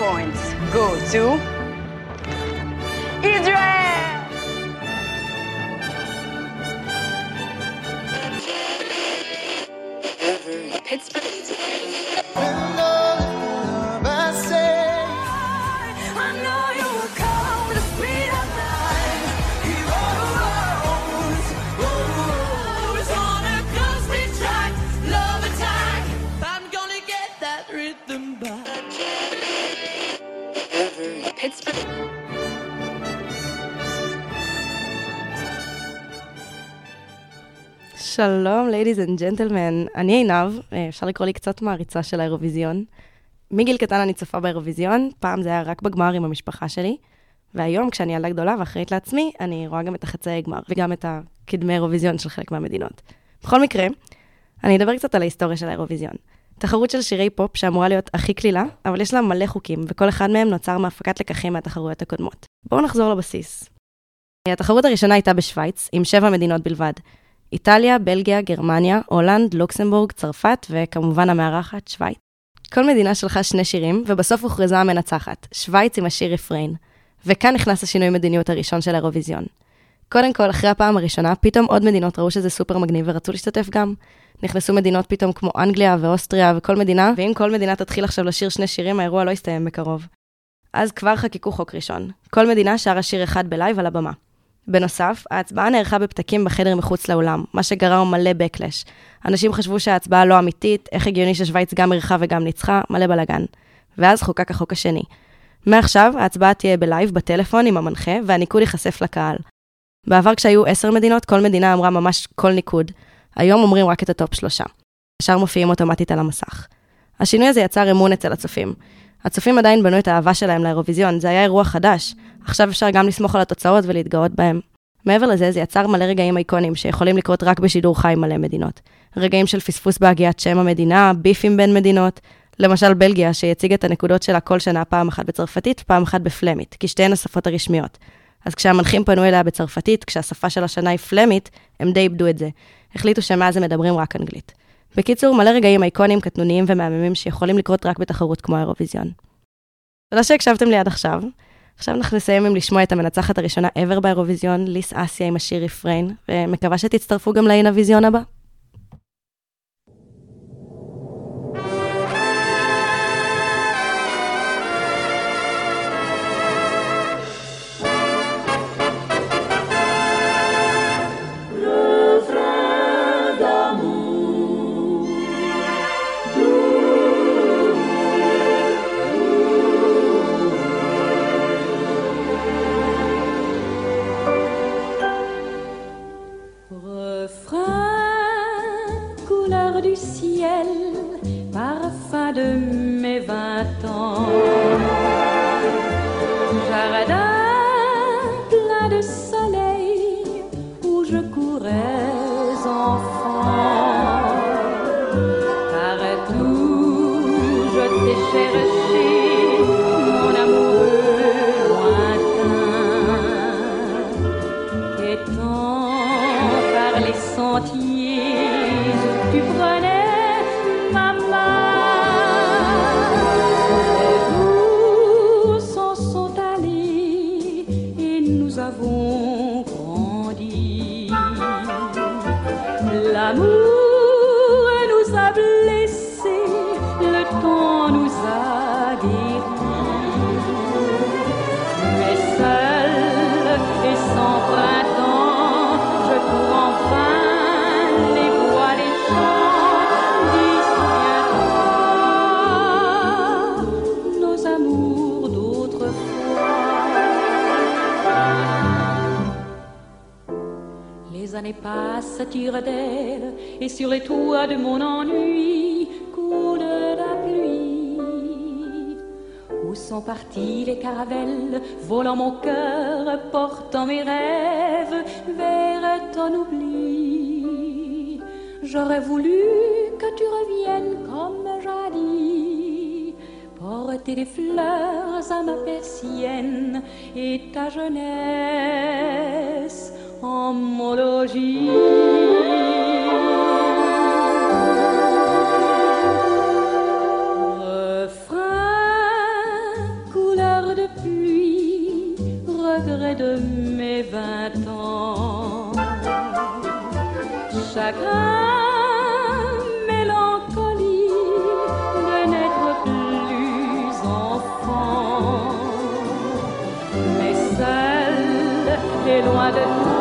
points go to Israel! Pittsburgh. Pittsburgh. שלום, ladies and gentlemen. אני עינב, אפשר לקרוא לי קצת מעריצה של האירוויזיון. מגיל קטן אני צופה באירוויזיון, פעם זה היה רק בגמר עם המשפחה שלי, והיום כשאני ילדה גדולה ואחראית לעצמי, אני רואה גם את החצאי גמר, וגם את הקדמי אירוויזיון של חלק מהמדינות. בכל מקרה, אני אדבר קצת על ההיסטוריה של האירוויזיון. תחרות של שירי פופ שאמורה להיות הכי כלילה, אבל יש לה מלא חוקים, וכל אחד מהם נוצר מהפקת לקחים מהתחרויות הקודמות. בואו נחזור לבסיס. התחרות הראשונה הייתה בשוויץ, עם 7 מדינות בלבד. איטליה, בלגיה, גרמניה, הולנד, לוקסמבורג, צרפת, וכמובן המארחת, שוויץ. כל מדינה שלחה 2 שירים, ובסוף הוכרזה המנצחת, שוויץ עם השיר רפריין. וכאן נכנס השינוי מדיניות הראשון של האירוויזיון. קודם כל, אחרי הפעם הראשונה, פתאום עוד מדינות ראו שזה סופר מגניב ורצו להשתתף גם. נכנסו מדינות פתאום כמו אנגליה ואוסטריה וכל מדינה, ואם כל מדינה תתחיל עכשיו לשיר 2 שירים, האירוע לא יסתיים בקרוב. אז כבר חקיקו חוק ראשון. כל מדינה שרה שיר אחד בלייב על הבמה. בנוסף, ההצבעה נערכה בפתקים בחדר מחוץ לאולם, מה שגרם מלא בקלש. אנשים חשבו שההצבעה לא אמיתית, איך הגיוני ששוויץ גם ערכה וגם ניצחה, מלא בלגן. ואז חוקק החוק השני. מעכשיו, ההצבעה תהיה בלייב, בטלפון עם המנחה, והניקוד ייחשף לקהל. בעבר כשהיו 10 מדינות, כל מדינה אמרה ממש כל ניקוד. היום אומרים רק את הטופ 3. השאר מופיעים אוטומטית על המסך. השינוי הזה יצר אמון אצל הצופים. הצופים עדיין בנו את האהבה שלהם לאירוויזיון, זה היה אירוע חדש. עכשיו אפשר גם לסמוך על התוצאות ולהתגאות בהם. מעבר לזה, זה יצר מלא רגעים אייקונים שיכולים לקרות רק בשידור חי מלא מדינות. רגעים של פספוס בהגיית שם המדינה, ביפים בין מדינות. למשל בלגיה, שיציג את הנקודות שלה כל שנה פעם אחת בצרפתית, פעם אחת בפלמית, כי שתיהן השפות הרשמיות. אז כשהמנחים פנו אליה בצרפתית, כשהשפה של השנה היא פלמית, הם די איבדו את זה. החליטו שמאז הם מדברים רק אנגלית. בקיצור, מלא רגעים אייקונים, קטנוניים ומהממים שיכולים לקרות רק בתחרות כמו האירוויזיון. תודה שהקשבתם לי עד עכשיו. עכשיו אנחנו נסיים עם לשמוע את המנצחת הראשונה ever באירוויזיון, ליס אסיה עם השיר רפריין, ומקווה שתצטרפו גם לאינוויזיון הבא. De mes 20 ans, jardin plein de soleil où je courais enfant. Partout je t'ai cherché, mon amoureux lointain, quêtant par les sentiers où tu prenais ma main. L'amour nous a blessés, le temps nous a guéris. Mais seul et sans printemps, je cours enfin les bois, les champs. Souviens-toi nos amours d'autrefois. Les années passent, tirent d'elle, et sur les toits de mon ennui coule la pluie. Où sont partis les caravelles, volant mon cœur, portant mes rêves vers ton oubli. J'aurais voulu que tu reviennes comme jadis, porter des fleurs à ma persienne et ta jeunesse en homologie. Refrain loin de